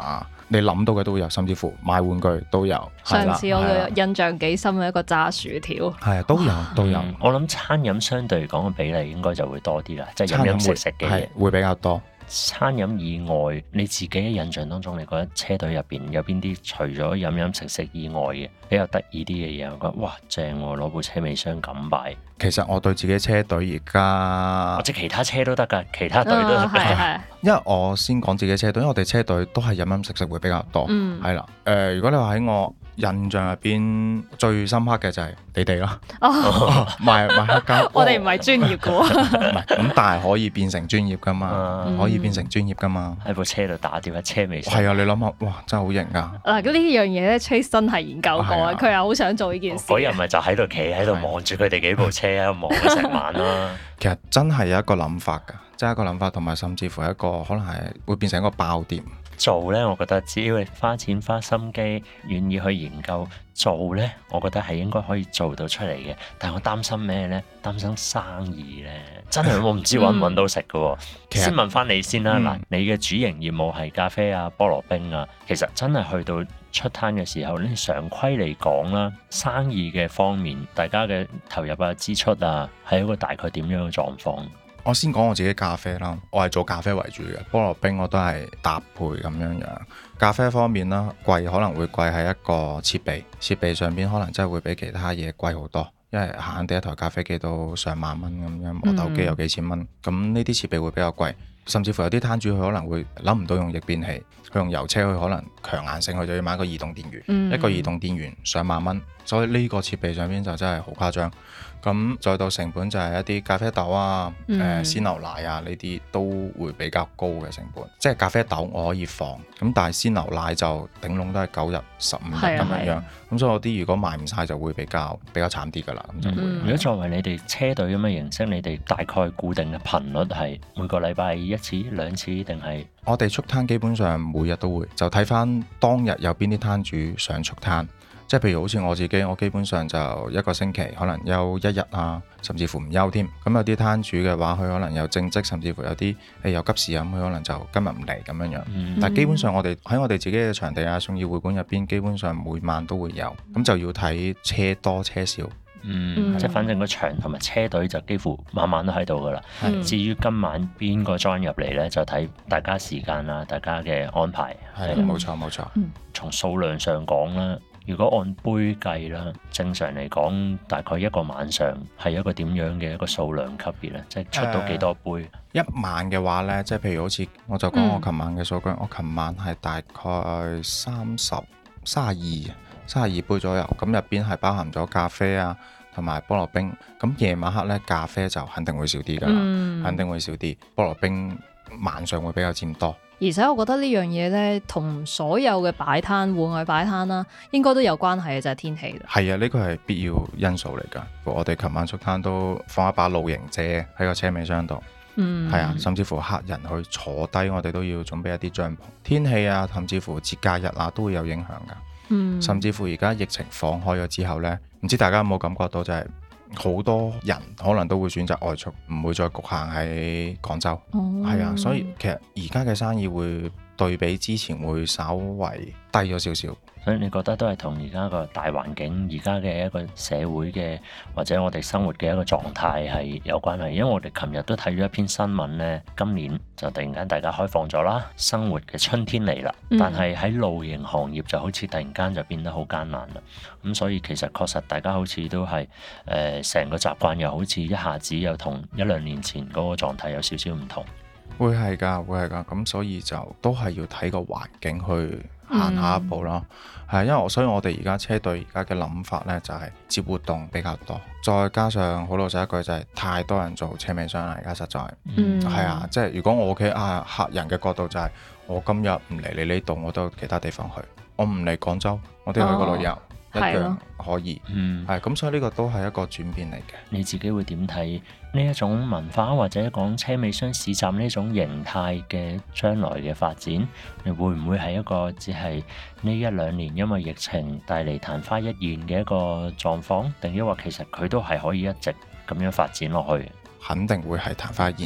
你諗到嘅都有，甚至乎買玩具都有。係啦上次我係啦嘅印象幾深嘅一個炸薯條， 係啊，都有。 我諗餐飲相對嚟講嘅比例應該就會多啲啦，即係飲飲食食嘅嘢。 係會比較多。 餐飲以外，你自己嘅印象當中，你覺得車隊入邊有邊啲除咗飲飲食食以外嘅比較得意啲嘅嘢？我覺得哇正喎，攞部車尾箱咁擺。 其實我對自己車隊而家或者其他車都得㗎，其他隊都得㗎。 係因為我先講自己車隊，因為我哋車隊都係飲飲食食會比較多，係啦。如果你話喺我印象入邊最深刻嘅就係你哋咯，賣黑膠。 我哋唔係專業嘅喎， 唔係咁，但係可以變成專業噶嘛，可以變成專業噶嘛。 喺部車度打碟喺車尾箱。 係啊，你諗下，哇，真係好型噶。 嗱，咁呢樣嘢咧，Trace 真係研究過啊，佢又好想做呢件事。 嗰日咪就喺度企喺度望住佢哋幾部車喺度望咗成晚啦。 其實真係有一個諗法㗎，真係一個諗法，同埋甚至乎一個可能係會變成一個爆點。 做呢，我覺得只要你花錢花心機，願意去研究做呢，我覺得係應該可以做到出嚟嘅。但係我擔心咩呢？擔心生意呢，真係我唔知揾唔揾到食嘅喎。先問翻你先啦，嗱，你嘅主營業務係咖啡啊、菠蘿冰啊，其實真係去到出攤嘅時候呢，常規嚟講啦，生意嘅方面，大家嘅投入啊、支出啊，係一個大概點樣嘅狀況？ 我先講我自己咖啡啦，我係做咖啡為主嘅，菠蘿冰我都係搭配咁樣樣。咖啡方面啦，貴可能會貴喺一個設備上邊，可能真係會比其他嘢貴好多，因為閒閒地一台咖啡機都上萬蚊咁樣，磨豆機有幾千蚊，咁呢啲設備會比較貴，甚至乎有啲攤主佢可能會諗唔到用逆變器，佢用油車佢可能強硬性，佢就要買一個移動電源，一個移動電源上萬蚊，所以呢個設備上邊就真係好誇張。咁再到成本就係一啲咖啡豆啊、鮮牛奶啊呢啲都會比較高嘅成本。即係咖啡豆我可以放，咁但係鮮牛奶就頂籠都係9日、15日咁樣。咁所以我啲如果賣唔晒就會比較慘啲㗎啦。咁就會。 如果作為你哋車隊咁嘅形式，你哋大概固定嘅頻率係每個禮拜1次、2次定係？ 我哋出攤基本上每日都會，就睇翻當日有邊啲攤主想出攤。即係譬如好似我自己，我基本上就一個星期可能休1日啊，甚至乎唔休添。咁有啲攤主嘅話，佢可能有正職，甚至乎有啲有急事咁，佢可能就今日唔嚟咁樣樣。但係基本上我哋喺我哋自己嘅場地啊、信義會館入邊，基本上每晚都會有。咁就要睇車多車少。 即係反正個場同埋車隊就幾乎晚晚都喺度噶啦。至於今晚邊個 join 入嚟呢，就睇大家時間啦，大家嘅安排。 係冇錯冇錯。 從數量上講啦。如果按杯計啦，正常嚟講，大概一個晚上係一個點樣嘅一個數量級別咧？即係出到幾多杯？ 一晚嘅話呢，即係譬如好似我就講我琴晚嘅數據，我琴晚係大概32杯左右，咁入邊係包含咗咖啡啊同埋菠蘿冰。咁夜晚黑呢，咖啡就肯定會少啲㗎啦，肯定會少啲。菠蘿冰晚上會比較佔多。 而且我覺得呢樣嘢呢，同所有嘅擺攤、戶外擺攤啦，應該都有關係嘅，就係天氣啦。 係啊，呢個係必要因素嚟㗎。我哋琴晚出攤都放一把露營遮喺個車尾箱度，係啊，甚至乎客人去坐低，我哋都要準備一啲帳篷。天氣啊，甚至乎節假日啊，都會有影響㗎。甚至乎而家疫情放開咗之後呢，唔知大家有冇感覺到就係好多人可能都會選擇外出，唔會再局限喺廣州。係啊，所以其實而家嘅生意會對比之前會稍為低咗少少。 所以你覺得都係同而家個大環境、而家嘅一個社會嘅或者我哋生活嘅一個狀態係有關係。因為我哋琴日都睇咗一篇新聞呢，今年就突然間大家開放咗啦，生活嘅春天嚟啦。但係喺露營行業就好似突然間就變得好艱難啦。咁所以其實確實大家好似都係成個習慣又好似一下子又同1-2年前嗰個狀態有少少唔同。 會係㗎，咁所以就都係要睇個環境去行下一步咯。係因為所以我哋而家車隊而家嘅諗法呢，就係接活動比較多，再加上好老實一句就係太多人做車尾箱啦，而家實在係啊，即係如果我企客人嘅角度就係我今日唔嚟你呢度，我都有其他地方去，我唔嚟廣州，我都要去個旅遊。一樣可以，係咁，所以呢個都係一個轉變嚟嘅。 你自己會點睇呢一種文化或者講車尾箱市集呢種形態嘅將來嘅發展？你會唔會係一個只係呢1-2年因為疫情帶嚟曇花一現嘅一個狀況，定抑或其實佢都係可以一直咁樣發展落去？ 肯定會係曇花一現，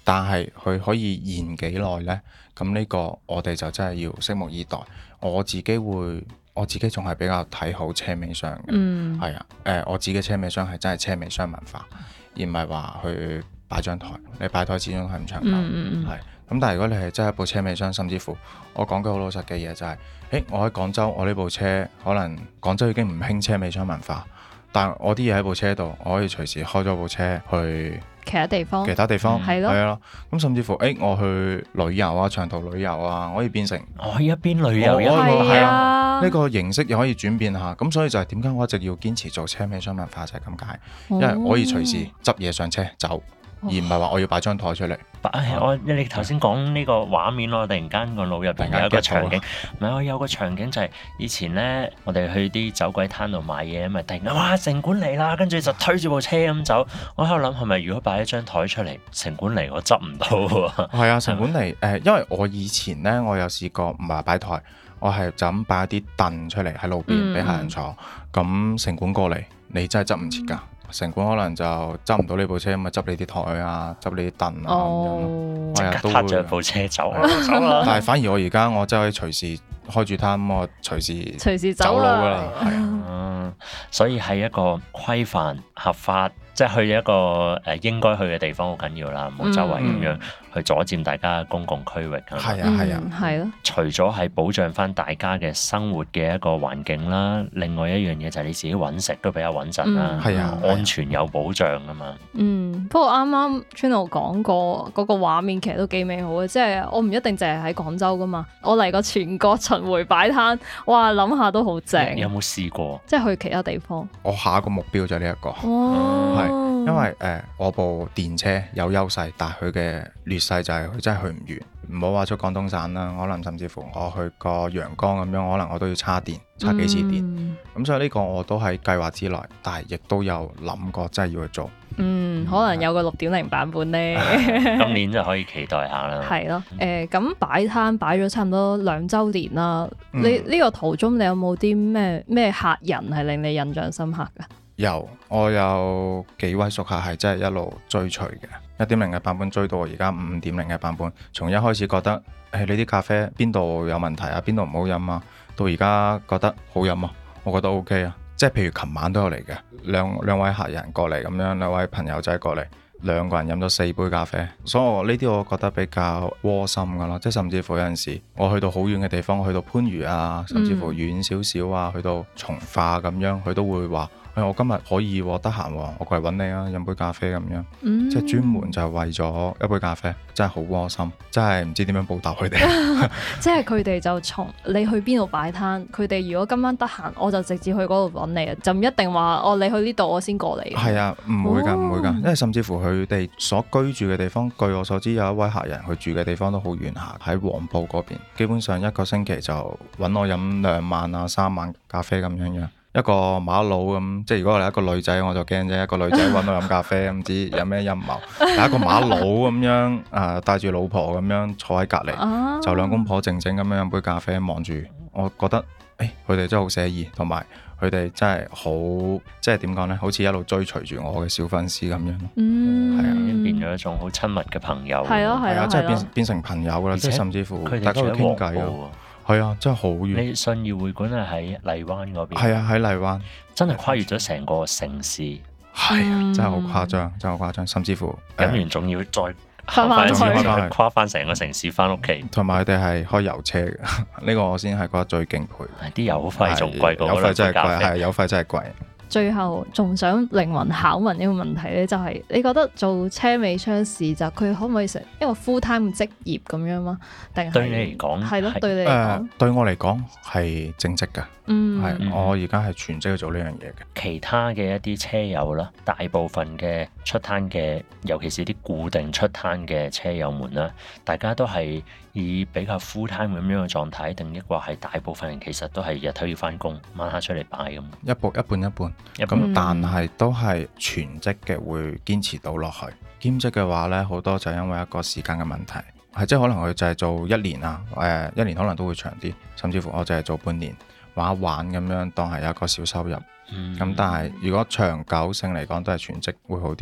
但係佢可以延幾耐呢？咁呢個我哋就真係要拭目以待。我自己仲係比較睇好車尾箱嘅，係啊，我自己嘅車尾箱係真係車尾箱文化，而唔係話去擺張台。你擺台始終係唔長久，係。咁但係如果你係真係一部車尾箱，甚至乎我講句好老實嘅嘢就係，我喺廣州，我呢部車可能廣州已經唔興車尾箱文化，但我啲嘢喺部車度，我可以隨時開咗部車去其他地方， 係咯。咁甚至乎我去旅遊啊，長途旅遊啊，可以變成一邊旅遊一邊係啊， 呢個形式又可以轉變下。咁所以就係點解我一直要堅持做車尾箱文化就係咁解，因為我可以隨時執嘢上車走。而唔係話我要擺張台出嚟。 你頭先講呢個畫面咯，突然間個腦入邊有一個場景，唔係我有個場景就係以前咧，我哋去啲走鬼攤度買嘢，咪突然間哇城管嚟啦，跟住就推住部車咁走。我喺度諗係咪如果擺一張台出嚟，城管嚟我執唔到喎。 係啊，城管嚟因為我以前咧，我有試過唔係擺台，我係就咁擺一啲凳出嚟喺路邊俾客人坐。咁城管過嚟，你真係執唔切㗎。城管可能就執唔到呢部車，咪執你啲台啊，執你啲凳啊咁樣， 即刻撻著部車走啦。 但係反而我而家我真係可以隨時開住攤，我隨時走佬㗎啦。係啊， 所以係一個規範合法，即係去一個應該去嘅地方好緊要啦，唔好周圍咁樣去阻佔大家公共區域。 係啊， 係咯。 除咗係保障翻大家嘅生活嘅一個環境啦，另外一樣嘢就係你自己揾食都比較穩陣啦，安全有保障㗎嘛。 不過啱啱 Juno 講過嗰個畫面其實都幾美好嘅，即係我唔一定淨係喺廣州㗎嘛，我嚟過全國巡迴擺攤，哇諗下都好正。 有冇試過？ 即係去其他地方。 我下一個目標就係呢一個，係因為我部電車有優勢，但係佢嘅劣勢就係佢真係去唔遠。唔好話出廣東省啦，可能甚至乎我去個陽江咁樣，可能我都要叉電，叉幾次電。咁所以呢個我都喺計劃之內，但係亦都有諗過真係要去做。 可能有個6.0版本呢， 今年就可以期待下啦。 係咯，咁擺攤擺咗差唔多2週年啦。你呢個途中你有冇啲咩客人係令你印象深刻㗎？ 我有幾位熟客係真係一路追隨嘅。1.0嘅版本追到我而家5.0嘅版本，從一開始覺得你啲咖啡邊度有問題啊，邊度唔好飲啊，到而家覺得好飲啊，我覺得 OK 啊。即係譬如琴晚都有嚟嘅，兩位客人過嚟咁樣，兩位朋友仔過嚟，2個人飲咗4杯咖啡，所以我呢啲我覺得比較窩心噶咯。即係甚至乎有陣時我去到好遠嘅地方，去到番禺啊，甚至乎遠少少啊，去到從化咁樣，佢都會話。我今日可以得閒，我過嚟揾你啊，飲杯咖啡咁樣，即係專門就係為咗一杯咖啡，真係好窩心，真係唔知點樣報答佢哋。 即係佢哋就從你去邊度擺攤，佢哋如果今晚得閒，我就直接去嗰度揾你啊，就唔一定話你去呢度我先過嚟。係啊，唔會㗎，因為甚至乎佢哋所居住嘅地方，據我所知有一位客人佢住嘅地方都好遠下，喺黃埔嗰邊，基本上一個星期就揾我飲2晚啊3晚咖啡咁樣。一個馬佬咁，即係如果我係一個女仔，我就驚啫。一個女仔揾我飲咖啡，唔知有咩陰謀。但一個馬佬咁樣，帶住老婆咁樣坐喺隔離，就兩公婆靜靜咁樣飲杯咖啡，望住。我覺得，佢哋真係好寫意，同埋佢哋真係好，即係點講呢？好似一路追隨住我嘅小粉絲咁樣。係啊， 已經變咗一種好親密嘅朋友。 係啊， 即係變成朋友㗎啦，即係甚至乎大家會傾偈咯。係啊，真係好遠。你信義會館係喺荔灣嗰邊？ 係啊，喺荔灣， 真係跨越咗成個城市。 係啊，真係好誇張，真係好誇張。甚至乎飲完仲要再行翻去跨翻成個城市翻屋企。 同埋佢哋係開油車嘅，呢個我先係覺得最敬佩。 啲油費仲貴過油費真係貴，係油費真係貴。 最後仲想靈魂拷問一個問題咧，就係你覺得做車尾箱市集，佢可唔可以成一個 full time 職業咁樣嗎？定係對你嚟講係咯？對你嚟講， 對我嚟講係正職㗎。係我而家係全職去做呢樣嘢嘅。 其他嘅一啲車友啦，大部分嘅出攤嘅，尤其是啲固定出攤嘅車友們啦，大家都係以比較 full time 咁樣嘅狀態，定抑或係大部分人其實都係日頭要翻工，晚黑出嚟擺咁。 一半。咁但係都係全職嘅會堅持到落去。兼職嘅話呢，好多就因為一個時間嘅問題，係即係可能佢就係做1年啊，1年可能都會長啲，甚至乎我就係做半年玩一玩咁樣，當係有一個小收入。咁但係如果長久性嚟講都係全職會好啲，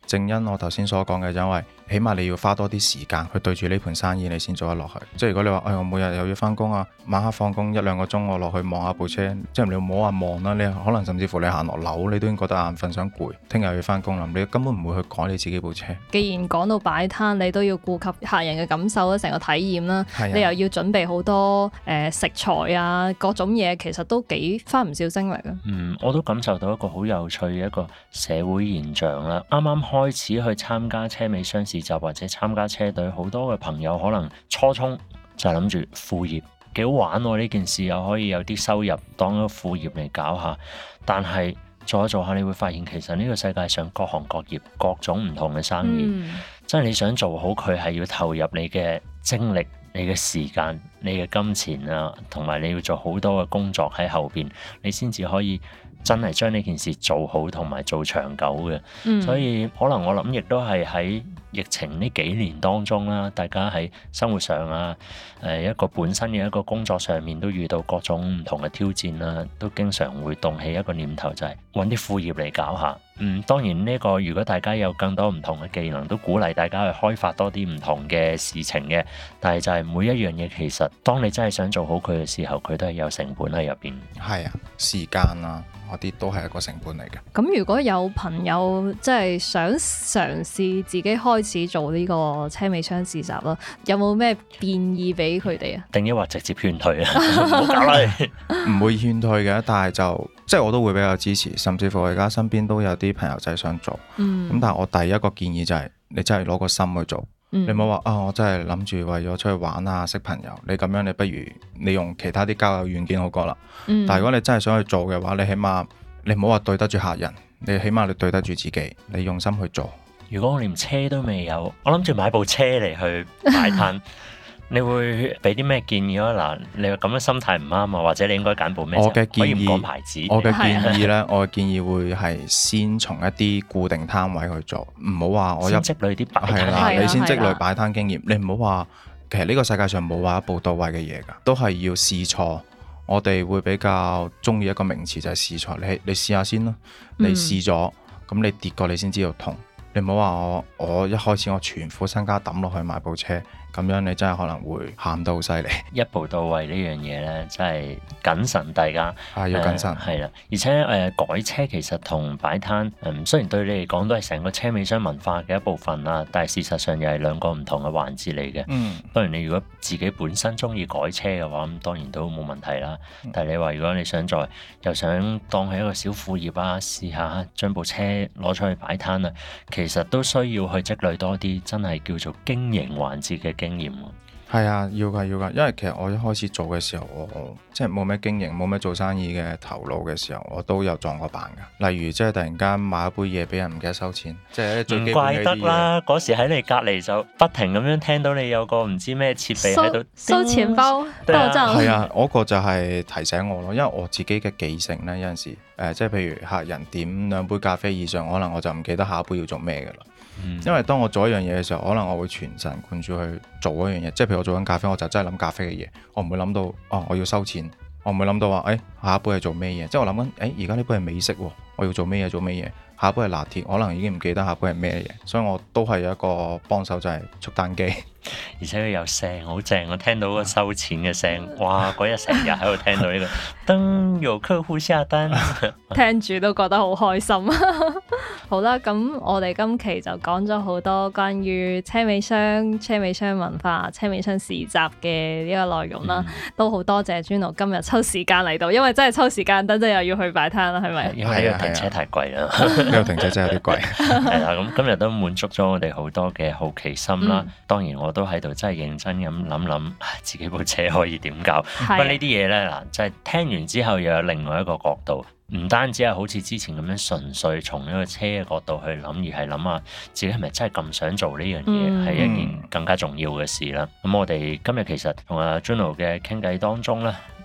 正因我頭先所講嘅，因為起碼你要花多啲時間去對住呢盤生意，你先做得落去。即係如果你話，我每日又要翻工啊，晚黑放工1-2個鐘，我落去望下部車，即係你唔好話望啦，你可能甚至乎你行落樓，你都已經覺得眼瞓想攰，聽日要翻工啦，你根本唔會去改你自己部車。 既然講到擺攤，你都要顧及客人嘅感受啦，成個體驗啦， 係啊， 你又要準備好多食材啊，各種嘢，其實都幾花唔少精力啊。 我都感受到一個好有趣嘅一個社會現象啦。啱啱開始去參加車尾箱市集或者參加車隊，好多嘅朋友可能初衷就係諗住副業，幾好玩喎，呢件事又可以有啲收入當一個副業嚟搞下。但係做下做下，你會發現其實呢個世界上各行各業各種唔同嘅生意，真係你想做好佢係要投入你嘅精力、你嘅時間、你嘅金錢啊，同埋你要做好多嘅工作喺後邊，你先至可以真係將呢件事做好同埋做長久嘅。所以可能我諗亦都係喺疫情呢幾年當中啦，大家喺生活上啊，一個本身嘅一個工作上面都遇到各種唔同嘅挑戰啦，都經常會動起一個念頭，就係揾啲副業嚟搞下。當然呢個如果大家有更多唔同嘅技能，都鼓勵大家去開發多啲唔同嘅事情嘅。但係就係每一樣嘢，其實當你真係想做好佢嘅時候，佢都係有成本喺入邊。 係啊，時間啊，嗰啲都係一個成本嚟嘅。 咁如果有朋友即係想嘗試自己開始做呢個車尾箱市集啦，有冇咩建議俾佢哋啊？ 定抑或直接勸退啊？唔好搞啦！ 唔會勸退嘅，但係就即係我都會比較支持，甚至乎我而家身邊都有啲朋友仔想做。咁但係我第一個建議就係你真係攞個心去做。你唔好話我真係諗住為咗出去玩啊，識朋友。你咁樣，你不如你用其他啲交友軟件好過啦。但係如果你真係想去做嘅話，你起碼你唔好話對得住客人，你起碼你對得住自己，你用心去做。 如果我連車都未有，我諗住買部車嚟去擺攤，你會俾啲咩建議啊？嗱，你話咁嘅心態唔啱啊，或者你應該揀部咩車？ 我嘅建議， 可以唔講牌子。 我嘅建議呢，我嘅建議會係先從一啲固定攤位去做，唔好話我先積累啲擺攤。 係啦，你先積累擺攤經驗，你唔好話其實呢個世界上冇話一步到位嘅嘢㗎，都係要試錯。我哋會比較中意一個名詞就係試錯，你試下先啦，你試咗，咁你跌過你先知道痛。你唔好話我一開始我全副身家抌落去買部車，咁樣你真係可能會喊得好犀利。 一步到位呢樣嘢呢，真係謹慎，大家要謹慎。 係啦，而且改車其實同擺攤，雖然對你嚟講都係成個車尾箱文化嘅一部分啦，但係事實上又係兩個唔同嘅環節嚟嘅。當然你如果自己本身中意改車嘅話，咁當然都冇問題啦。但係你話如果你想又想當係一個小副業啊，試下將部車攞出去擺攤啊，其實都需要去積累多啲真係叫做經營環節嘅經驗。 係啊，要㗎，因為其實我一開始做嘅時候，我即係冇咩經營，冇咩做生意嘅頭腦嘅時候，我都有撞過板㗎。例如即係突然間買一杯嘢俾人唔記得收錢，即係最基本嘅啲嘢。唔怪得啦， 嗰時喺你隔離就不停咁樣聽到你有個唔知咩設備喺度收錢包爆炸。 係啊，嗰個就係提醒我咯，因為我自己嘅記性呢，有陣時即係譬如客人點2杯咖啡以上，可能我就唔記得下一杯要做咩㗎啦。因為當我做一樣嘢嘅時候，可能我會全神貫注去做一樣嘢，即係譬如我做緊咖啡，我就真係諗咖啡嘅嘢，我唔會諗到我要收錢，我唔會諗到話下一杯係做咩嘢，即係我諗緊而家呢杯係美式喎，我要做咩嘢，下一杯係拿鐵，可能已經唔記得下一杯係咩嘢，所以我都係有一個幫手就係速單機， 而且佢有聲好正，我聽到個收錢嘅聲，哇！嗰日成日喺度聽到呢個燈由客戶下單， 聽住都覺得好開心。好啦，咁我哋今期就講咗好多關於車尾箱文化、車尾箱市集嘅呢個內容啦，都好多謝 Juno 今日抽時間嚟到，因為真係抽時間，等陣又要去擺攤啦，係咪？ 因為呢個停車太貴啦， 呢個停車真係有啲貴。 係啦，咁今日都滿足咗我哋好多嘅好奇心啦。當然我都喺度真係認真咁諗自己部車可以點搞。不過呢啲嘢咧嗱，就係聽完之後又有另外一個角度。唔單止係好似之前咁樣純粹從一個車嘅角度去諗，而係諗下自己係咪真係咁想做呢樣嘢，係一件更加重要嘅事啦。咁我哋今日其實同阿 Juno 嘅傾偈當中咧，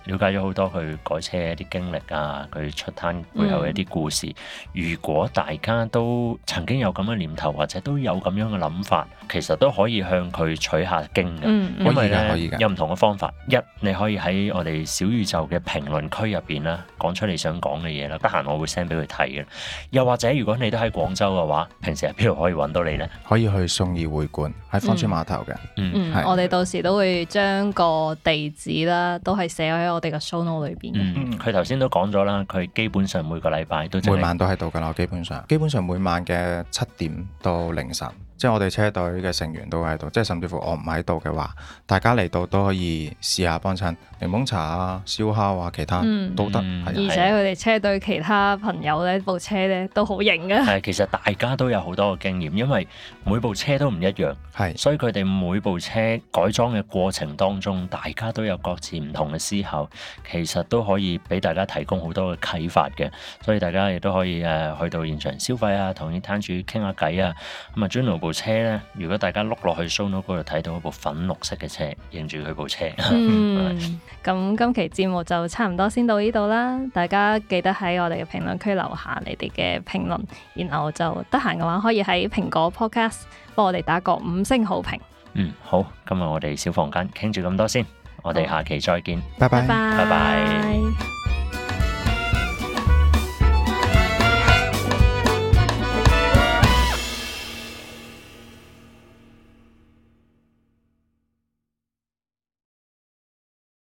了解咗好多佢改車嘅一啲經歷啊，佢出攤背後嘅一啲故事。如果大家都曾經有咁嘅念頭，或者都有咁樣嘅諗法，其實都可以向佢取下經嘅，因為可以咧有唔同嘅方法。一，你可以喺我哋小宇宙嘅評論區入邊啦，講出你想講嘅嘢啦。得閒我會 send 俾佢睇嘅。又或者如果你都喺廣州嘅話，平時喺邊度可以揾到你呢？ 可以去信義會館，喺芳村碼頭嘅。係我哋到時都會將個地址啦，都係寫喺我哋嘅 show note 裏邊嘅。 佢頭先都講咗啦，佢基本上每個禮拜都每晚都喺度㗎啦，基本上每晚嘅7點到凌晨。即係我哋車隊嘅成員都喺度，即係甚至乎我唔喺度嘅話，大家嚟到都可以試下幫襯檸檬茶啊、燒烤啊，其他都得。 而且佢哋車隊其他朋友呢部車呢都好型嘅。 係，其實大家都有好多嘅經驗，因為每部車都唔一樣，所以佢哋每部車改裝嘅過程當中，大家都有各自唔同嘅思考，其實都可以俾大家提供好多嘅啟發嘅。所以大家亦都可以去到現場消費啊，同啲攤主傾下偈啊。咁啊，Juno部車咧，如果大家碌落去 show note 嗰度睇到一部粉綠色嘅車，認住佢部車。 咁今期節目就差唔多先到呢度啦。大家記得喺我哋嘅評論區留下你哋嘅評論，然後就得閒嘅話可以喺蘋果 Podcast 幫我哋打個5星好評。 好，今日我哋小房間傾住咁多先，我哋下期再見， 拜拜， 拜拜。